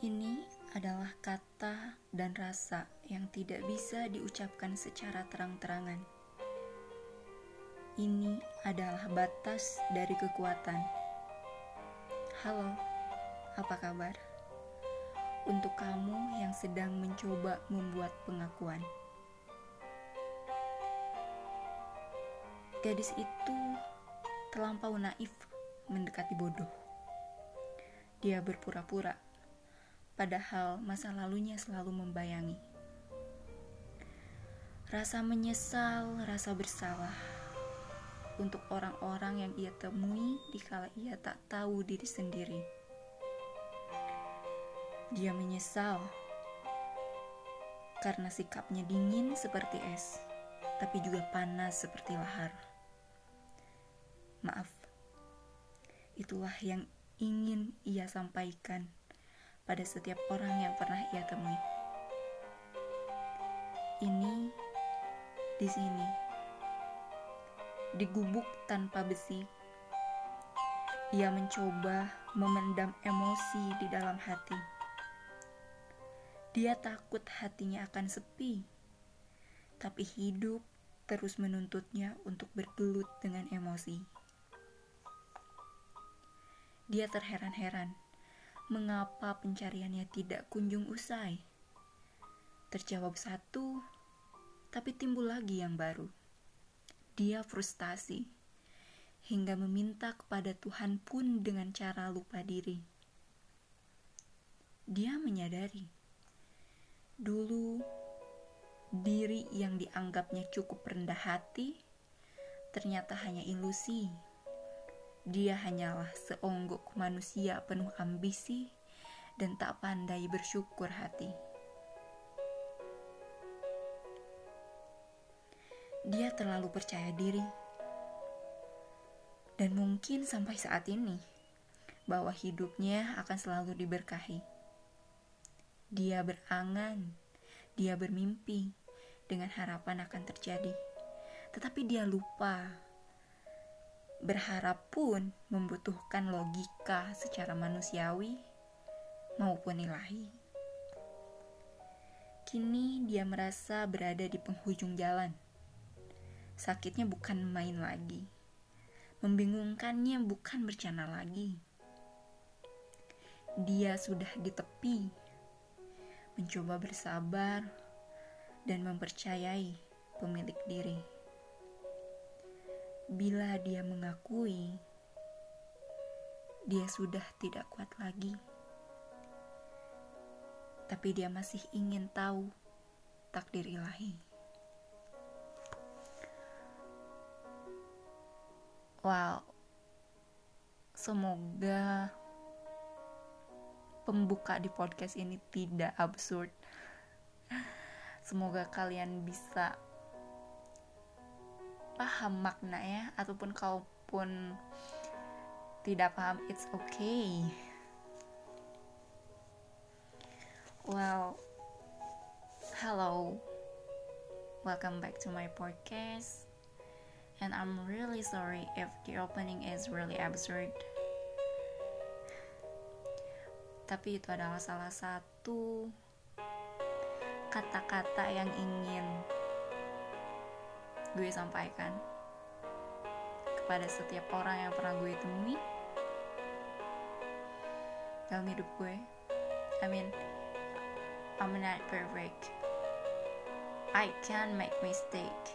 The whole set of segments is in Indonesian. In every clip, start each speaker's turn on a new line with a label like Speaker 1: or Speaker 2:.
Speaker 1: Ini adalah kata dan rasa yang tidak bisa diucapkan secara terang-terangan. Ini adalah batas dari kekuatan. Halo, apa kabar? Untuk kamu yang sedang mencoba membuat pengakuan. Gadis itu terlampau naif mendekati bodoh. Dia berpura-pura, padahal masa lalunya selalu membayangi. Rasa menyesal, rasa bersalah untuk orang-orang yang ia temui dikala ia tak tahu diri sendiri. Dia menyesal karena sikapnya dingin seperti es, tapi juga panas seperti lahar. Maaf, itulah yang ingin ia sampaikan pada setiap orang yang pernah ia temui. Ini di sini, di gubuk tanpa besi, ia mencoba memendam emosi di dalam hati. Dia takut hatinya akan sepi, tapi hidup terus menuntutnya untuk bergelut dengan emosi. Dia terheran-heran mengapa pencariannya tidak kunjung usai. Terjawab satu, tapi timbul lagi yang baru. Dia frustasi hingga meminta kepada Tuhan pun dengan cara lupa diri. Dia menyadari dulu diri yang dianggapnya cukup rendah hati ternyata hanya ilusi. Dia hanyalah seonggok manusia penuh ambisi dan tak pandai bersyukur hati. Dia terlalu percaya diri. Dan mungkin sampai saat ini, bahwa hidupnya akan selalu diberkahi. Dia berangan, dia bermimpi dengan harapan akan terjadi. Tetapi dia lupa. Berharap pun membutuhkan logika secara manusiawi maupun ilahi. Kini dia merasa berada di penghujung jalan. Sakitnya bukan main lagi. Membingungkannya bukan bercanda lagi. Dia sudah di tepi, mencoba bersabar dan mempercayai pemilik diri. Bila dia mengakui, dia sudah tidak kuat lagi. Tapi dia masih ingin tahu takdir ilahi. Wow, semoga pembuka di podcast ini tidak absurd. Semoga kalian bisa paham maknanya, ataupun kalaupun tidak paham, it's okay. Well, hello, welcome back to my podcast. And I'm really sorry if the opening is really absurd. Tapi itu adalah salah satu kata-kata yang ingin gue sampaikan kepada setiap orang yang pernah gue temui dalam hidup gue. I'm not perfect. I can make mistake.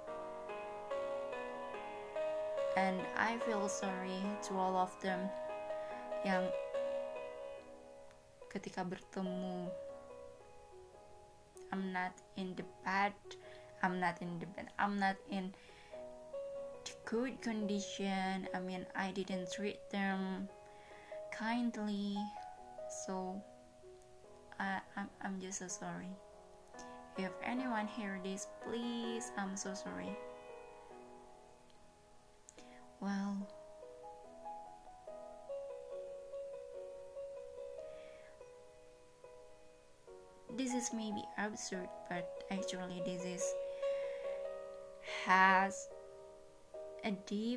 Speaker 1: And I feel sorry to all of them yang ketika bertemu, I'm not in the good condition. I didn't treat them kindly, so I'm just so sorry. If anyone hear this, please, I'm so sorry. Well, this is maybe absurd, but actually this has a deep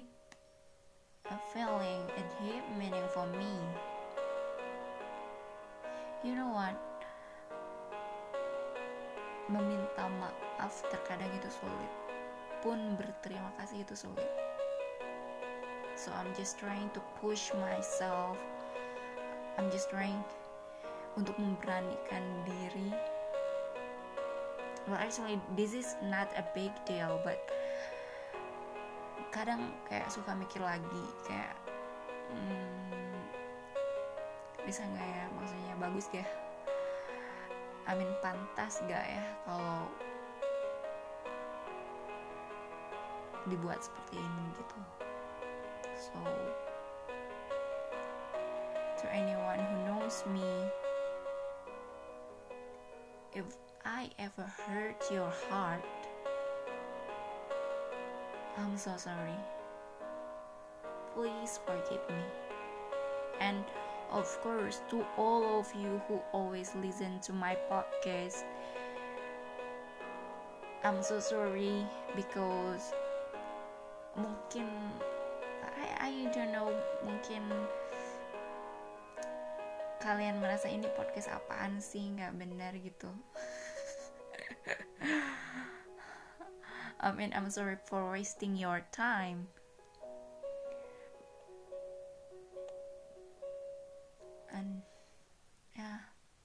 Speaker 1: feeling, a deep meaning for me. You know meminta maaf terkadang itu sulit, pun berterima kasih itu sulit. So I'm just trying to push myself, I'm just trying untuk memberanikan diri. Well actually this is not a big deal, but kadang kayak suka mikir lagi kayak bisa gak ya, maksudnya bagus gak, pantas gak ya kalau dibuat seperti ini gitu. So to anyone who knows me, if I ever hurt your heart, I'm so sorry. Please forgive me. And of course, to all of you who always listen to my podcast, I'm so sorry because mungkin I don't know, mungkin kalian merasa ini podcast apaan sih, nggak benar gitu. I'm sorry for wasting your time. And yeah,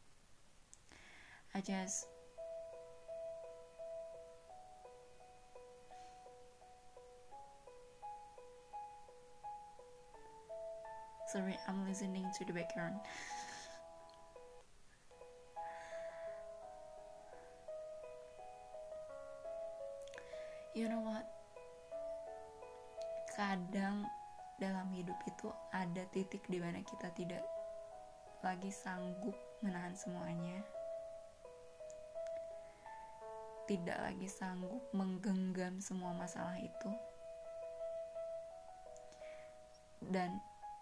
Speaker 1: I just sorry, I'm listening to the background. You know what? Kadang dalam hidup itu ada titik di mana kita tidak lagi sanggup menahan semuanya, tidak lagi sanggup menggenggam semua masalah itu, dan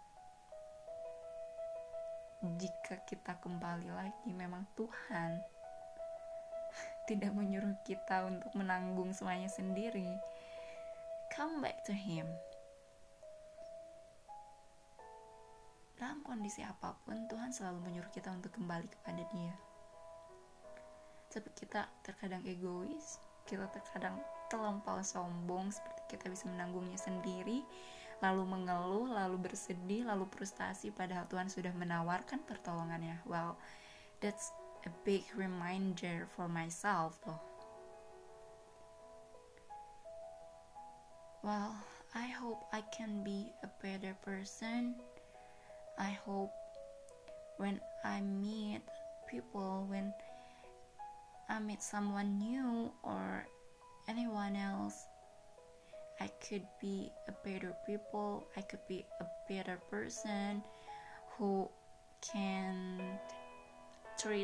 Speaker 1: jika kita kembali lagi, memang Tuhan tidak menyuruh kita untuk menanggung semuanya sendiri. Come back to Him. Dalam kondisi apapun, Tuhan selalu menyuruh kita untuk kembali kepada Dia. Tapi kita terkadang egois, kita terkadang terlampau sombong, seperti kita bisa menanggungnya sendiri, lalu mengeluh, lalu bersedih, lalu frustasi, padahal Tuhan sudah menawarkan pertolongannya. Well, that's a big reminder for myself loh. Well, I hope I can be a better person. I hope when I meet people, when I meet someone new or anyone else, I could be a better people, I could be a better person who can treat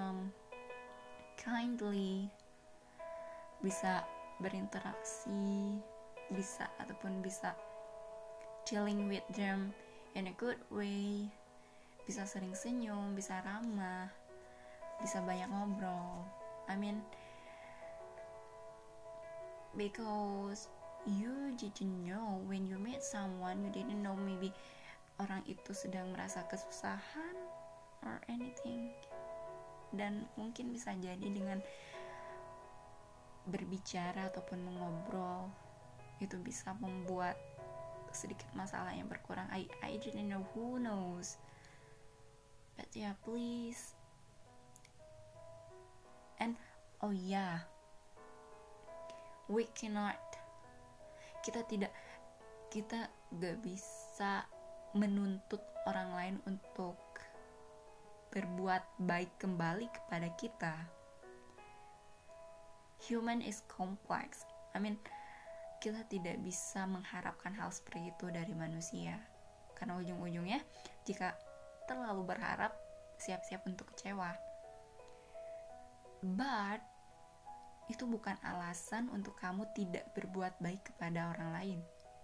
Speaker 1: kindly, bisa berinteraksi, bisa chilling with them in a good way, bisa sering senyum, bisa ramah, bisa banyak ngobrol. Because you didn't know when you meet someone, you didn't know maybe orang itu sedang merasa kesusahan or anything, dan mungkin bisa jadi dengan berbicara ataupun mengobrol itu bisa membuat sedikit masalah yang berkurang. I didn't know, who knows, but yeah, please. And oh yeah, kita gak bisa menuntut orang lain untuk berbuat baik kembali kepada kita. Human is complex. Kita tidak bisa mengharapkan hal seperti itu dari manusia, karena ujung-ujungnya jika terlalu berharap, siap-siap untuk kecewa. But itu bukan alasan untuk kamu tidak berbuat baik kepada orang lain.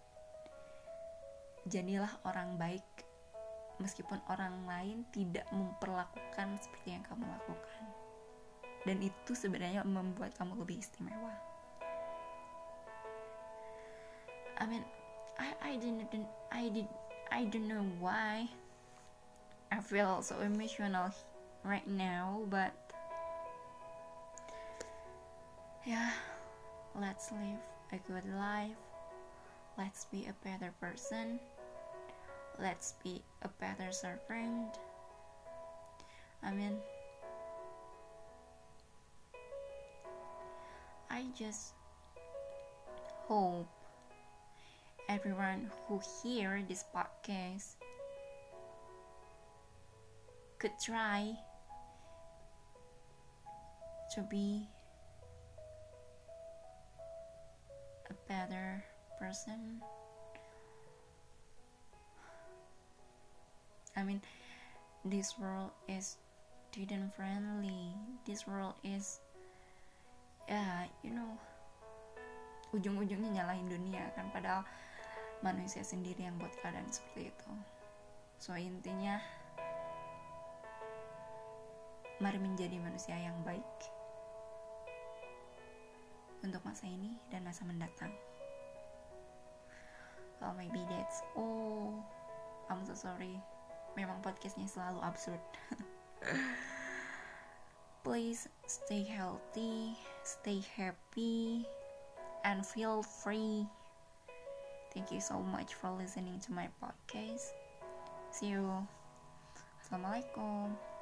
Speaker 1: Jadilah orang baik meskipun orang lain tidak memperlakukan seperti yang kamu lakukan, dan itu sebenarnya membuat kamu lebih istimewa. I don't know why I feel so emotional right now, but Yeah, let's live a good life. Let's be a better person. Let's be a better servant. I just hope everyone who hear this podcast could try to be a better person. This world is student friendly. This world is, ujung-ujungnya nyalahin dunia kan, padahal manusia sendiri yang buat keadaan seperti itu. So intinya, mari menjadi manusia yang baik untuk masa ini dan masa mendatang. Well, maybe that's all. I'm so sorry. Memang podcastnya selalu absurd. Please stay healthy, stay happy, and feel free. Thank you so much for listening to my podcast. See you. Assalamualaikum.